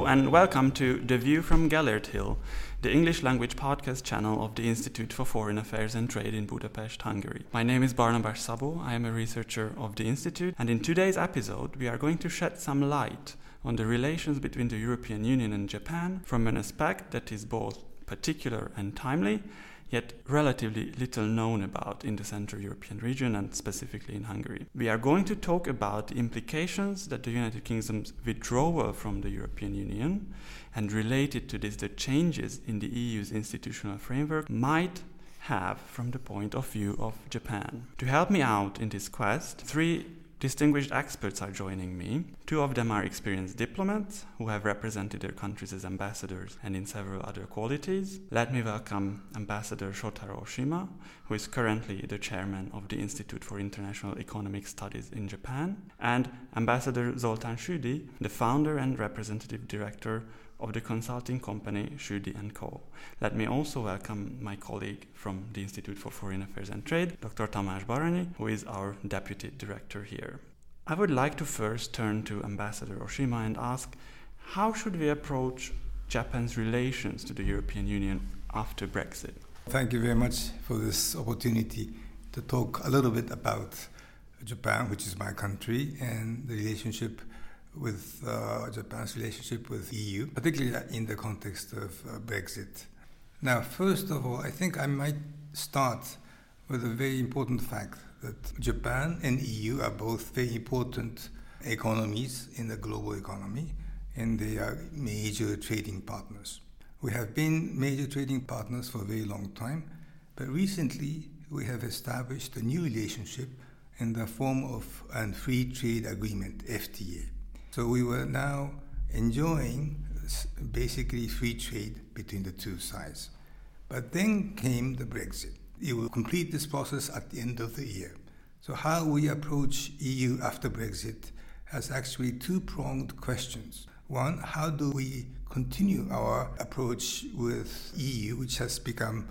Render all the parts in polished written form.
and welcome to The View from Gellert Hill, the English language podcast channel of the Institute for Foreign Affairs and Trade in Budapest, Hungary. My name is Barnabas Szabó, I am a researcher of the Institute, and in today's episode we are going to shed some light on the relations between the European Union and Japan from an aspect that is both particular and timely, yet relatively little known about in the Central European region and specifically in Hungary. We are going to talk about the implications that the United Kingdom's withdrawal from the European Union and related to this the changes in the EU's institutional framework might have from the point of view of Japan. To help me out in this quest, three distinguished experts are joining me. Two of them are experienced diplomats who have represented their countries as ambassadors and in several other qualities. Let me welcome Ambassador Shotaro Oshima, who is currently the chairman of the Institute for International Economic Studies in Japan, and Ambassador Zoltán Südi, the founder and representative director of the consulting company Südi & Co. Let me also welcome my colleague from the Institute for Foreign Affairs and Trade, Dr. Tamás Baranyi, who is our deputy director here. I would like to first turn to Ambassador Oshima and ask, how should we approach Japan's relations to the European Union after Brexit? Thank you very much for this opportunity to talk a little bit about Japan, which is my country, and the relationship with Japan's relationship with the EU, particularly in the context of Brexit. Now, first of all, I think I might start with a very important fact that Japan and EU are both very important economies in the global economy, and they are major trading partners. We have been major trading partners for a very long time, but recently we have established a new relationship in the form of a free trade agreement, FTA. So we were now enjoying basically free trade between the two sides. But then came the Brexit. It will complete this process at the end of the year. So how we approach EU after Brexit has actually two-pronged questions. One, how do we continue our approach with EU, which has become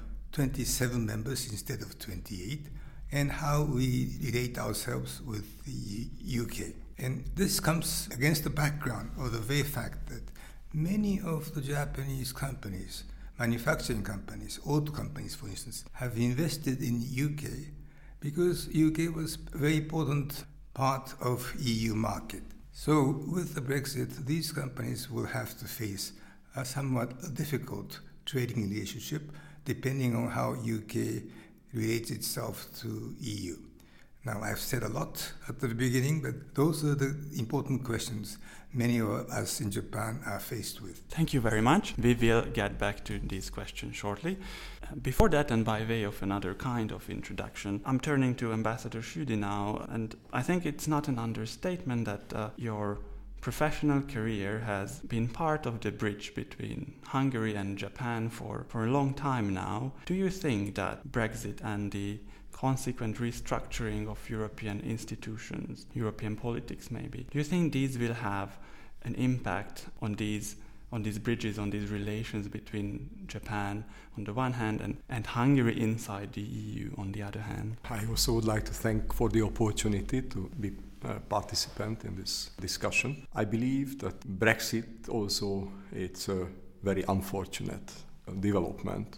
27 members instead of 28, and how we relate ourselves with the UK. And this comes against the background of the very fact that many of the Japanese companies, manufacturing companies, auto companies for instance, have invested in UK because UK was a very important part of EU market. So with the Brexit, these companies will have to face a somewhat difficult trading relationship depending on how UK relates itself to EU. Now, I've said a lot at the beginning, but those are the important questions many of us in Japan are faced with. Thank you very much. We will get back to these questions shortly. Before that, and by way of another kind of introduction, I'm turning to Ambassador Südi now, and I think it's not an understatement that your professional career has been part of the bridge between Hungary and Japan for a long time now. Do you think that Brexit and the consequent restructuring of European institutions, European politics maybe, do you think these will have an impact on these bridges, on these relations between Japan on the one hand and Hungary inside the EU on the other hand? I also would like to thank for the opportunity to be a participant in this discussion. I believe that Brexit also, it's a very unfortunate development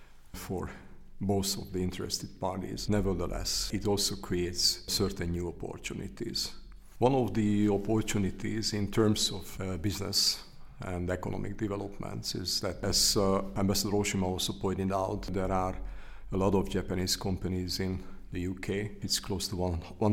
for both of the interested parties. Nevertheless, it also creates certain new opportunities. One of the opportunities in terms of business and economic developments is that, as Ambassador Oshima also pointed out, there are a lot of Japanese companies in the UK. It's close to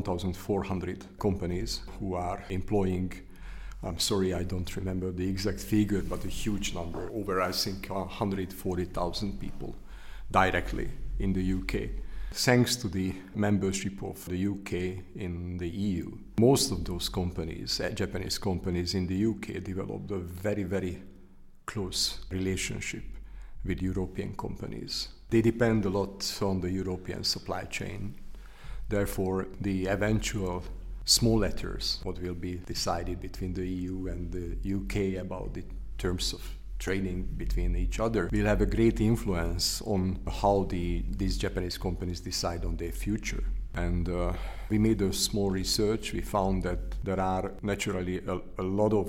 1,400 companies who are employing, I'm sorry, I don't remember the exact figure, but a huge number, over I think 140,000 people directly in the UK. Thanks to the membership of the UK in the EU, most of those companies, Japanese companies in the UK, developed a very, very close relationship with European companies. They depend a lot on the European supply chain. Therefore, the eventual small letters, what will be decided between the EU and the UK about the terms of trading between each other, will have a great influence on how these Japanese companies decide on their future. And we made a small research. We found that there are naturally a lot of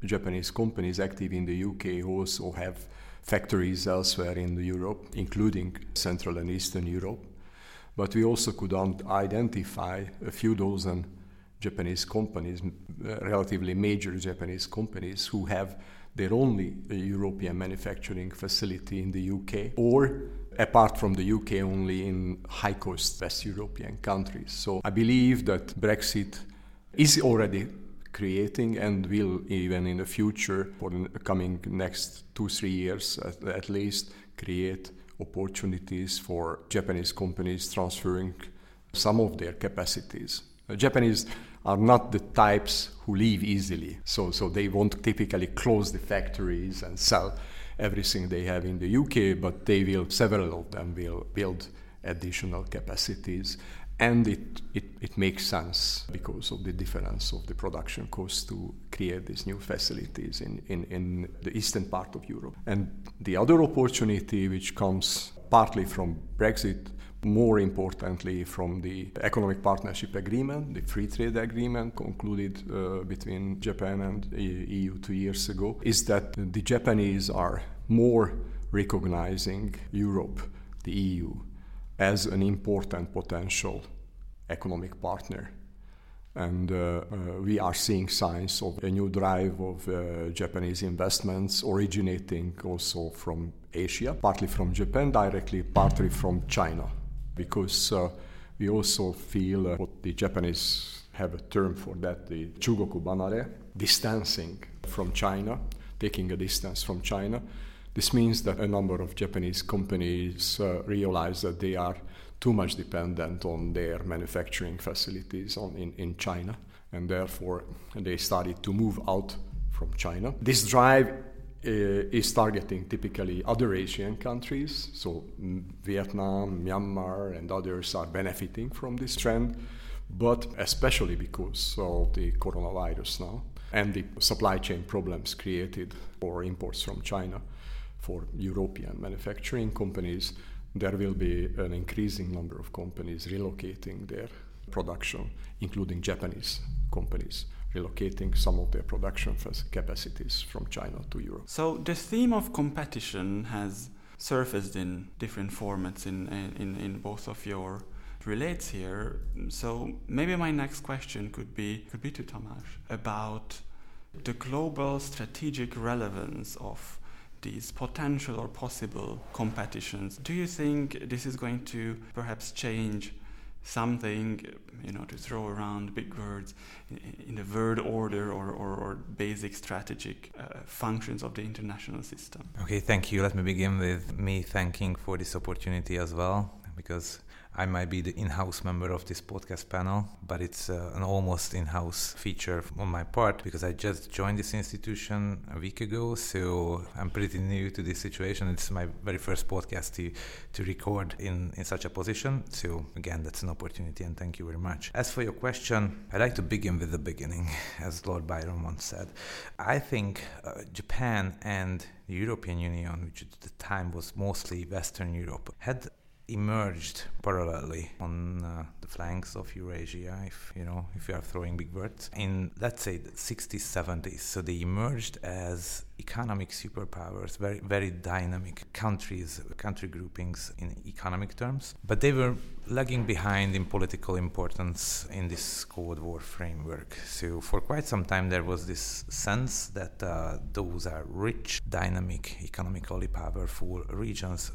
Japanese companies active in the UK also have factories elsewhere in Europe, including Central and Eastern Europe. But we also could identify a few dozen Japanese companies, relatively major Japanese companies, who have their only European manufacturing facility in the UK, or apart from the UK, only in high-cost West European countries. So I believe that Brexit is already creating and will even in the future, for the coming next 2-3 years at least, create opportunities for Japanese companies transferring some of their capacities. Japanese are not the types who leave easily, so they won't typically close the factories and sell everything they have in the UK, but several of them will build additional capacities. And it makes sense because of the difference of the production costs to create these new facilities in the eastern part of Europe. And the other opportunity, which comes partly from Brexit, more importantly from the Economic Partnership Agreement, the Free Trade Agreement concluded between Japan and the EU 2 years ago, is that the Japanese are more recognizing Europe, the EU, as an important potential economic partner. And we are seeing signs of a new drive of Japanese investments originating also from Asia, partly from Japan directly, partly from China, because we also feel what the Japanese have a term for that, the Chugoku Banare, distancing from China, taking a distance from China. This means that a number of Japanese companies realize that they are too much dependent on their manufacturing facilities in China, and therefore they started to move out from China. This drive is targeting typically other Asian countries, so Vietnam, Myanmar, and others are benefiting from this trend, but especially because of the coronavirus now and the supply chain problems created for imports from China. For European manufacturing companies, there will be an increasing number of companies relocating their production, including Japanese companies relocating some of their production capacities from China to Europe. So the theme of competition has surfaced in different formats in both of your relates here. So maybe my next question could be to Tamás about the global strategic relevance of these potential or possible competitions. Do you think this is going to perhaps change something, to throw around big words, in the word order or basic strategic functions of the international system? Okay, thank you. Let me begin with me thanking for this opportunity as well, because I might be the in-house member of this podcast panel, but it's an almost in-house feature on my part because I just joined this institution a week ago, so I'm pretty new to this situation. It's my very first podcast to record in such a position. So again, that's an opportunity, and thank you very much. As for your question, I'd like to begin with the beginning, as Lord Byron once said. I think Japan and the European Union, which at the time was mostly Western Europe, had emerged parallelly on the flanks of Eurasia, if you are throwing big words, in, let's say, the 60s, 70s. So they emerged as economic superpowers, very, very dynamic country groupings in economic terms, but they were lagging behind in political importance in this Cold War framework. So for quite some time there was this sense that those are rich, dynamic, economically powerful regions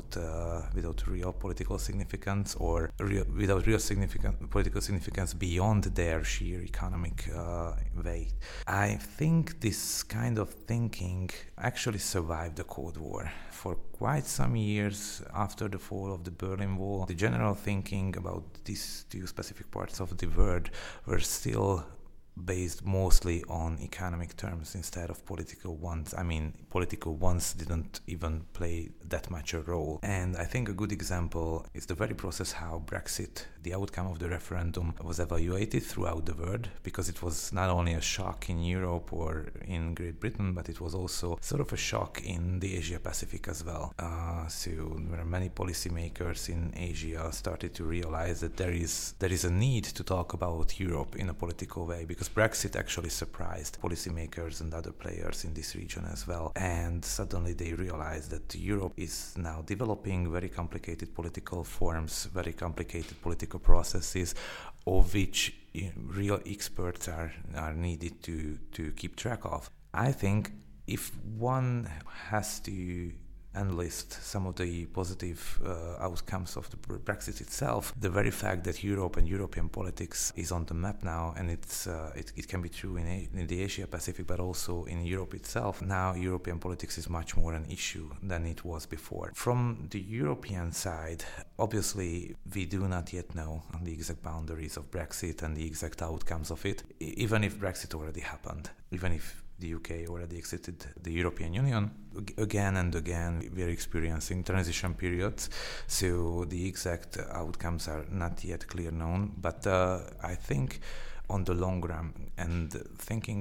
without real political significance or without real significant political significance beyond their sheer economic weight. I think this kind of thinking actually survived the Cold War. For quite some years after the fall of the Berlin Wall, the general thinking about these two specific parts of the world were still based mostly on economic terms instead of political ones. I mean, political ones didn't even play that much a role. And I think a good example is the very process how Brexit, the outcome of the referendum, was evaluated throughout the world, because it was not only a shock in Europe or in Great Britain, but it was also sort of a shock in the Asia Pacific as well. So there are many policymakers in Asia started to realize that there is a need to talk about Europe in a political way, because because Brexit actually surprised policymakers and other players in this region as well. And suddenly they realized that Europe is now developing very complicated political forms, very complicated political processes, of which real experts are needed to keep track of. I think if one has to enlist some of the positive outcomes of the Brexit itself, the very fact that Europe and European politics is on the map now, and it can be true in the Asia Pacific, but also in Europe itself. Now European politics is much more an issue than it was before. From the European side, obviously we do not yet know the exact boundaries of Brexit and the exact outcomes of it, even if Brexit already happened, even if the UK already exited the European Union. Again and again, we are experiencing transition periods, so the exact outcomes are not yet clear known. But I think on the long run, and thinking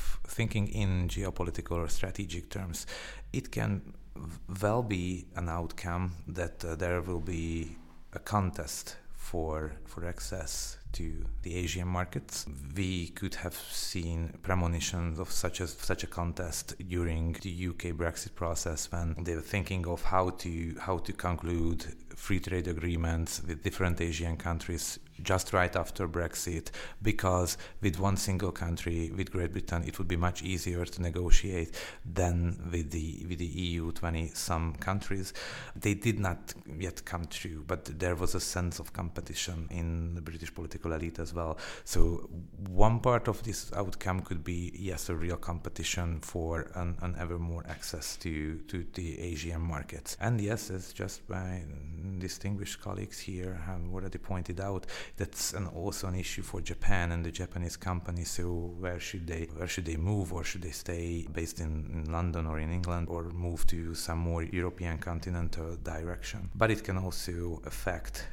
in geopolitical or strategic terms, it can well be an outcome that there will be a contest for access to the Asian markets. We could have seen premonitions of such a contest during the UK Brexit process, when they were thinking of how to conclude free trade agreements with different Asian countries just right after Brexit, because with one single country, with Great Britain, it would be much easier to negotiate than with the EU 20-some countries. They did not yet come true, but there was a sense of competition in the British political elite as well. So one part of this outcome could be, yes, a real competition for an ever more access to the Asian markets. And yes, as just my distinguished colleagues here have already pointed out, that's also an issue for Japan and the Japanese companies. So where should they move, or should they stay based in London or in England, or move to some more European continental direction? But it can also affect,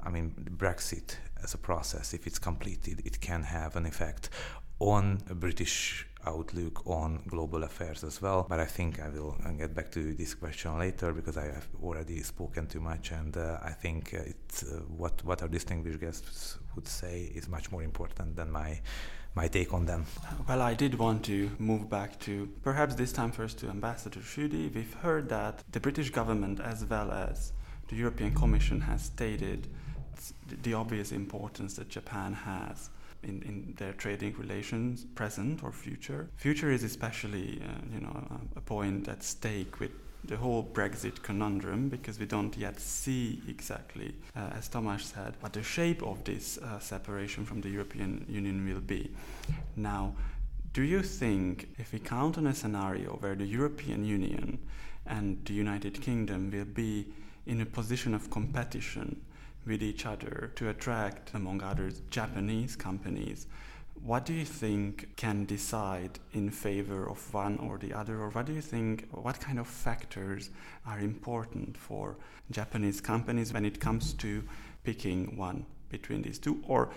Brexit as a process. If it's completed, it can have an effect on a British outlook on global affairs as well. But I think I will get back to this question later, because I have already spoken too much, and I think it's what our distinguished guests would say is much more important than my take on them. Well, I did want to move back to, perhaps this time first, to Ambassador Schudi. We've heard that the British government, as well as the European Commission, has stated the obvious importance that Japan has in their trading relations, present or future. Future is especially, a point at stake with the whole Brexit conundrum, because we don't yet see exactly, as Tomáš said, what the shape of this separation from the European Union will be. Now, do you think, if we count on a scenario where the European Union and the United Kingdom will be in a position of competition with each other to attract, among others, Japanese companies, what do you think can decide in favor of one or the other? Or what do you think, what kind of factors are important for Japanese companies when it comes to picking one between these two? Or,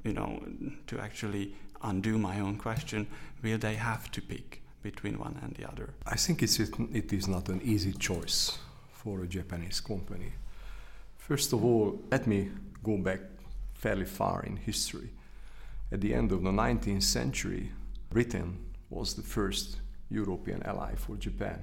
to actually undo my own question, will they have to pick between one and the other? I think it is not an easy choice for a Japanese company. First of all, let me go back fairly far in history. At the end of the 19th century, Britain was the first European ally for Japan.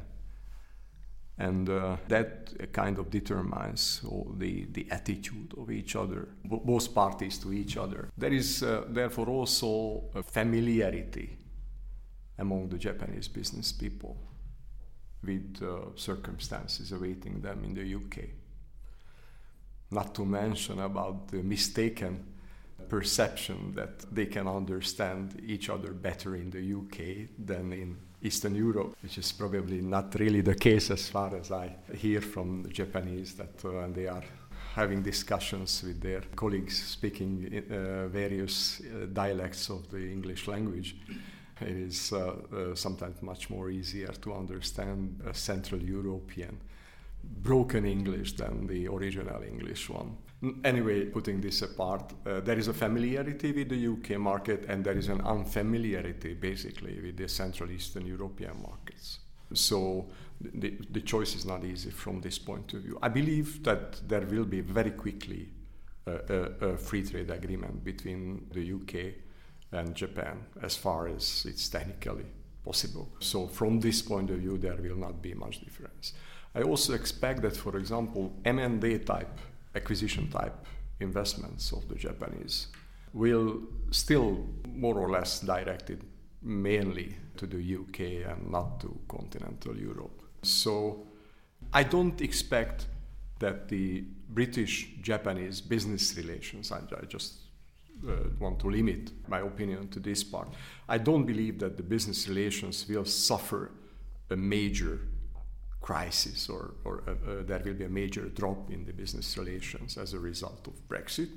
And that kind of determines the attitude of each other, both parties to each other. There is therefore also a familiarity among the Japanese business people with circumstances awaiting them in the UK. Not to mention about the mistaken perception that they can understand each other better in the UK than in Eastern Europe, which is probably not really the case as far as I hear from the Japanese, that when they are having discussions with their colleagues speaking various dialects of the English language, it is sometimes much more easier to understand a Central European broken English than the original English one. Anyway, putting this apart, there is a familiarity with the UK market, and there is an unfamiliarity basically with the Central Eastern European markets. So the choice is not easy from this point of view. I believe that there will be very quickly a free trade agreement between the UK and Japan as far as it's technically possible. So from this point of view, there will not be much difference. I also expect that, for example, M&A type, acquisition type investments of the Japanese will still more or less directed mainly to the UK and not to continental Europe. So I don't expect that the British-Japanese business relations, I just want to limit my opinion to this part. I don't believe that the business relations will suffer a major crisis or there will be a major drop in the business relations as a result of Brexit.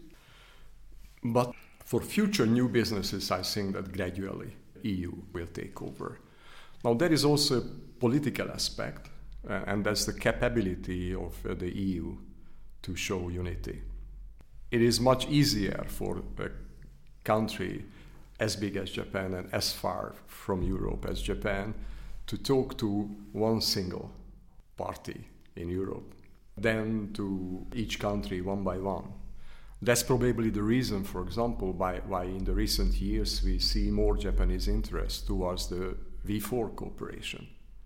But for future new businesses, I think that gradually EU will take over. Now there is also a political aspect, and that's the capability of the EU to show unity. It is much easier for a country as big as Japan and as far from Europe as Japan to talk to one single party in Europe than to each country one by one. That's probably the reason, for example, why in the recent years we see more Japanese interest towards the V4 cooperation,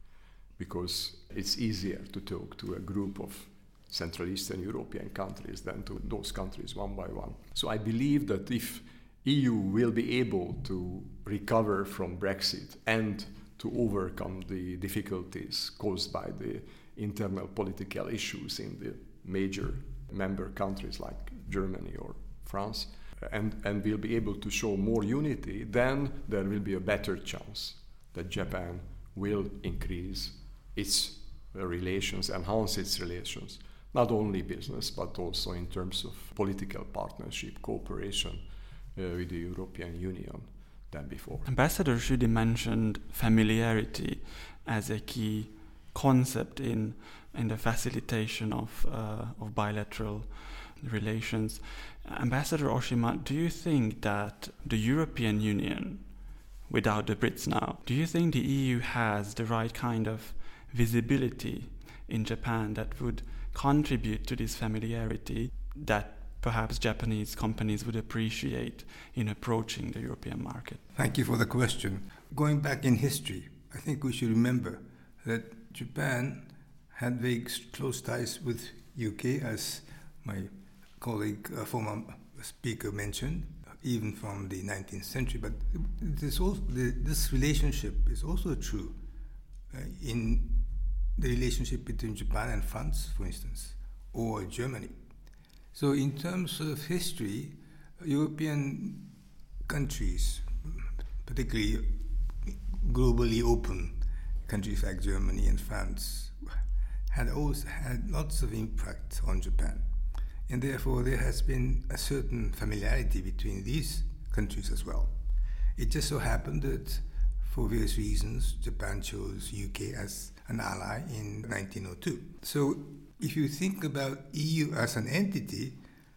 because it's easier to talk to a group of Central Eastern European countries than to those countries one by one. So I believe that if EU will be able to recover from Brexit and to overcome the difficulties caused by the internal political issues in the major member countries like Germany or France, and will be able to show more unity, then there will be a better chance that Japan will increase its relations, enhance its relations, not only business, but also in terms of political partnership, cooperation with the European Union than before. Ambassador Schudi mentioned familiarity as a key concept in the facilitation of bilateral relations. Ambassador Oshima, do you think that the European Union, without the Brits now, do you think the EU has the right kind of visibility in Japan that would contribute to this familiarity that perhaps Japanese companies would appreciate in approaching the European market? Thank you for the question. Going back in history, I think we should remember that Japan had very close ties with UK, as my colleague, former speaker mentioned, even from the 19th century. But this relationship is also true in the relationship between Japan and France, for instance, or Germany. So in terms of history, European countries, particularly globally open countries like Germany and France, had always had lots of impact on Japan. And therefore there has been a certain familiarity between these countries as well. It just so happened that for various reasons, Japan chose UK as an ally in 1902. So if you think about EU as an entity,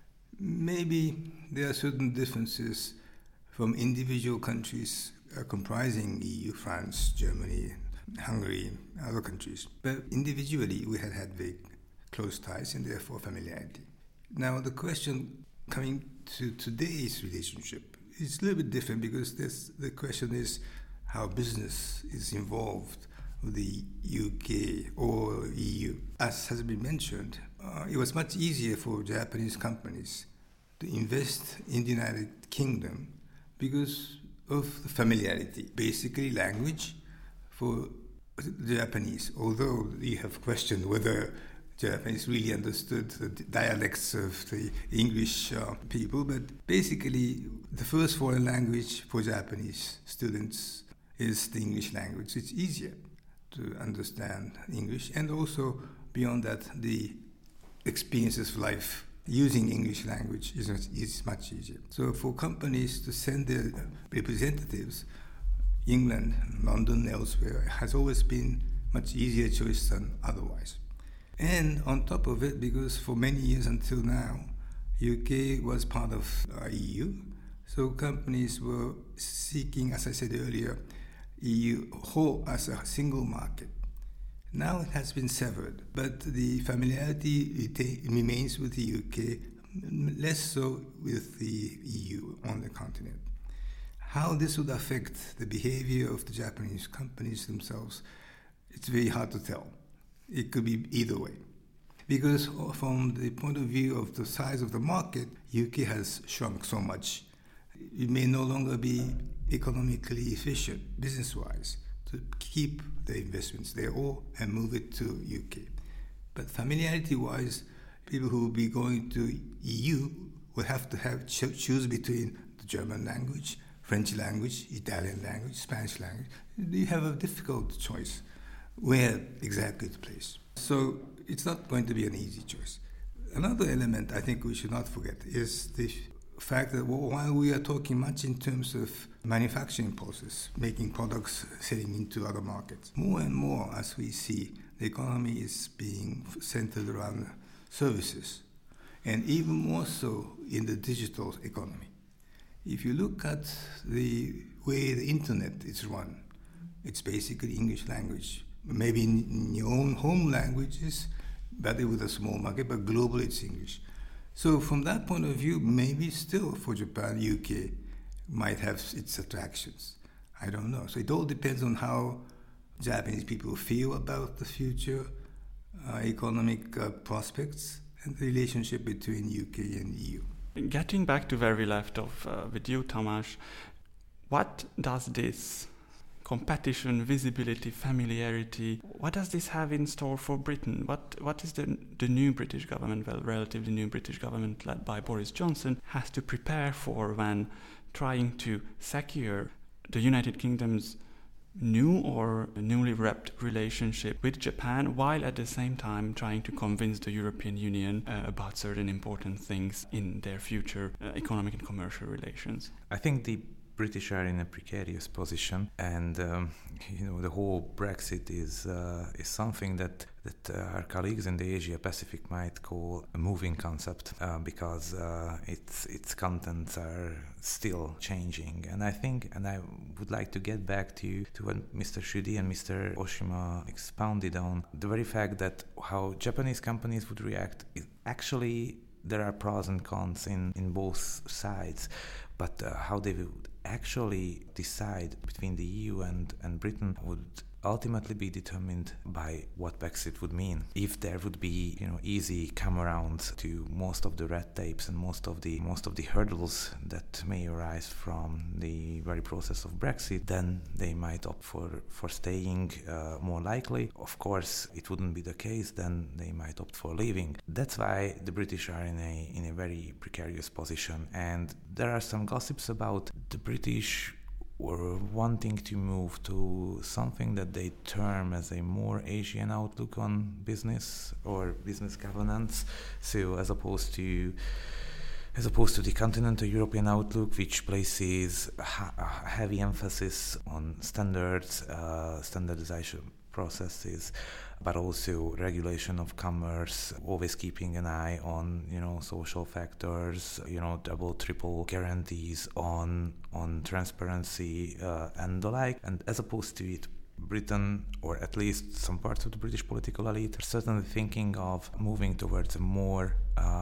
maybe there are certain differences from individual countries comprising EU, France, Germany, Hungary, other countries. But individually, we had very close ties and therefore familiarity. Now, the question coming to today's relationship is a little bit different, because the question is how business is involved with the UK or EU. As has been mentioned, it was much easier for Japanese companies to invest in the United Kingdom because of the familiarity, basically language for the Japanese, although you have questioned whether Japanese really understood the dialects of the English people, but basically the first foreign language for Japanese students is the English language. It's easier to understand English, and also beyond that, the experiences of life using English language is much easier. So for companies to send their representatives, England, London, elsewhere, has always been much easier choice than otherwise. And on top of it, because for many years until now, UK was part of EU, so companies were seeking, as I said earlier, EU whole as a single market. Now it has been severed, but the familiarity remains with the UK, less so with the EU on the continent. How this would affect the behavior of the Japanese companies themselves, it's very hard to tell. It could be either way. Because from the point of view of the size of the market, UK has shrunk so much. It may no longer be economically efficient, business-wise, to keep the investments there or and move it to UK. But familiarity-wise, people who will be going to EU will have to choose between the German language, French language, Italian language, Spanish language. You have a difficult choice where exactly to place. So it's not going to be an easy choice. Another element I think we should not forget is the fact that while we are talking much in terms of manufacturing process, making products, selling into other markets, more and more as we see, the economy is being centered around services, and even more so in the digital economy. If you look at the way the internet is run, it's basically English language. Maybe in your own home languages, better with a small market, but globally it's English. So from that point of view, maybe still for Japan, UK might have its attractions. I don't know. So it all depends on how Japanese people feel about the future economic prospects and the relationship between UK and EU. Getting back to where we left off with you, Tamás, what does this competition, visibility, familiarity, what does this have in store for Britain? What is the new British government, well, relatively new British government led by Boris Johnson, has to prepare for when trying to secure the United Kingdom's new or newly wrapped relationship with Japan, while at the same time trying to convince the European Union about certain important things in their future economic and commercial relations? I think the British are in a precarious position, and the whole Brexit is something that our colleagues in the Asia Pacific might call a moving concept, because its contents are still changing. And I think, and I would like to get back to what Mr. Schudy and Mr. Oshima expounded on, the very fact that how Japanese companies would react is actually, there are pros and cons in both sides, but how they would actually decide between the EU and Britain would ultimately be determined by what Brexit would mean. If there would be, easy come around to most of the red tapes and most of the hurdles that may arise from the very process of Brexit, then they might opt for staying more likely. Of course, it wouldn't be the case, then they might opt for leaving. That's why the British are in a very precarious position, and there are some gossips about the British were wanting to move to something that they term as a more Asian outlook on business or business governance. So as opposed to the continental European outlook, which places a heavy emphasis on standards, standardization processes, but also regulation of commerce, always keeping an eye on social factors, double, triple guarantees on transparency and the like. And as opposed to it, Britain, or at least some parts of the British political elite, are certainly thinking of moving towards a more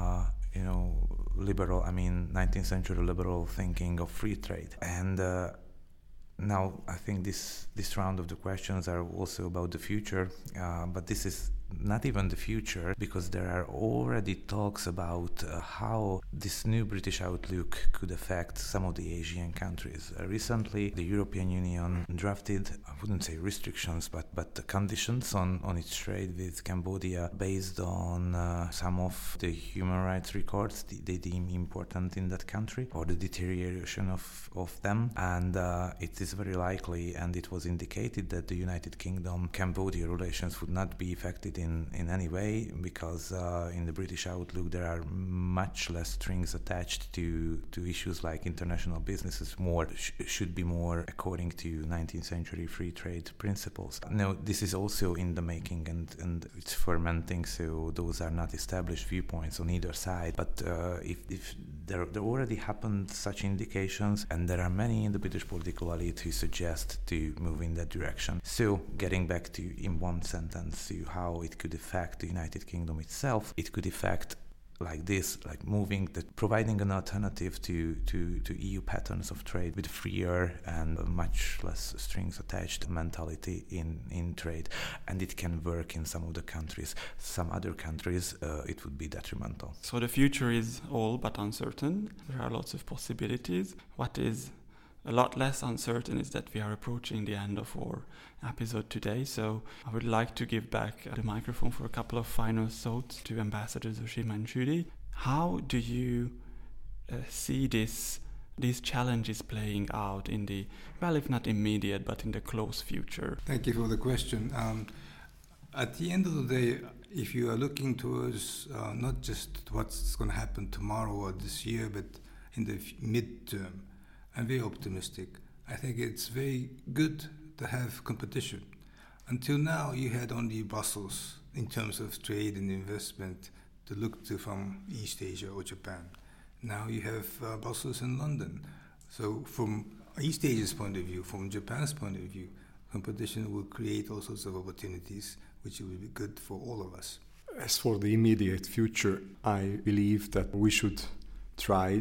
liberal, 19th century liberal thinking of free trade. And now, I think this round of the questions are also about the future, but this is not even the future, because there are already talks about how this new British outlook could affect some of the Asian countries. Recently, the European Union drafted, I wouldn't say restrictions, but the conditions on its trade with Cambodia based on some of the human rights records they deem important in that country, or the deterioration of them. And it is very likely, and it was indicated, that the United Kingdom-Cambodia relations would not be affected in any way, because in the British outlook there are much less strings attached to issues like international businesses. Should be more according to 19th century free trade principles. Now, this is also in the making, and it's fermenting, so those are not established viewpoints on either side. But if there already happened such indications, and there are many in the British political elite who suggest to move in that direction. So, getting back to, in one sentence, to how it could affect the United Kingdom itself, it could affect like this, like providing an alternative to EU patterns of trade with freer and much less strings attached mentality in trade. And it can work in some of the countries. Some other countries, it would be detrimental. So the future is all but uncertain. There are lots of possibilities. What is a lot less uncertain is that we are approaching the end of our episode today, so I would like to give back the microphone for a couple of final thoughts to Ambassadors Oshima and Shudi. How do you see these challenges playing out in the, well, if not immediate, but in the close future? Thank you for the question. At the end of the day, if you are looking towards not just what's going to happen tomorrow or this year, but in the midterm, I'm very optimistic. I think it's very good to have competition. Until now, you had only Brussels in terms of trade and investment to look to from East Asia or Japan. Now you have Brussels and London. So from East Asia's point of view, from Japan's point of view, competition will create all sorts of opportunities, which will be good for all of us. As for the immediate future, I believe that we should try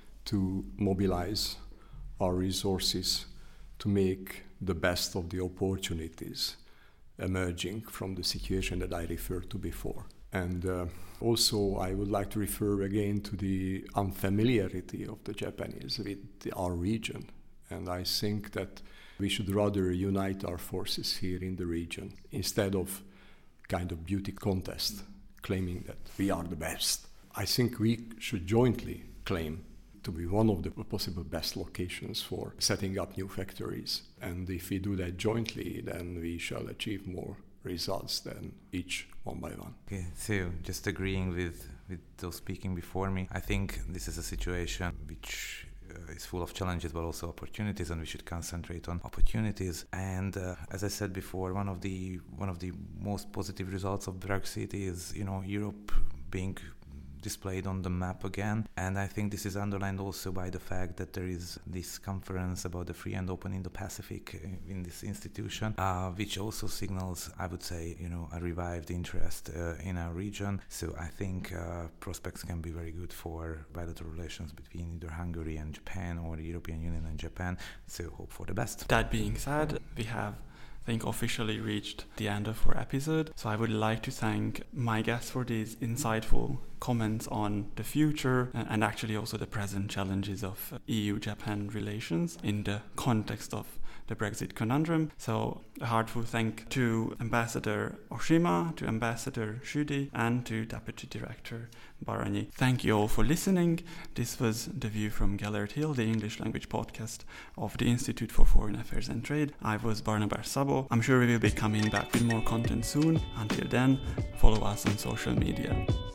to mobilize our resources to make the best of the opportunities emerging from the situation that I referred to before. And also I would like to refer again to the unfamiliarity of the Japanese with our region. And I think that we should rather unite our forces here in the region instead of kind of beauty contest, claiming that we are the best. I think we should jointly claim to be one of the possible best locations for setting up new factories. And if we do that jointly, then we shall achieve more results than each one by one. Okay, so just agreeing with those speaking before me, I think this is a situation which is full of challenges but also opportunities, and we should concentrate on opportunities. And as I said before, one of the most positive results of Brexit is, Europe being displayed on the map again. And I think this is underlined also by the fact that there is this conference about the free and open Indo-Pacific in this institution, which also signals, I would say, a revived interest in our region. So I think prospects can be very good for bilateral relations between either Hungary and Japan or the European Union and Japan. So hope for the best. That being said, we have officially reached the end of our episode. So I would like to thank my guests for these insightful comments on the future and actually also the present challenges of EU-Japan relations in the context of the Brexit conundrum. So a heartfelt thank to Ambassador Oshima, to Ambassador Shudi, and to Deputy Director Baranyi. Thank you all for listening. This was The View from Gellert Hill, the English language podcast of the Institute for Foreign Affairs and Trade. I was Barnabas Sabo. I'm sure we will be coming back with more content soon. Until then, follow us on social media.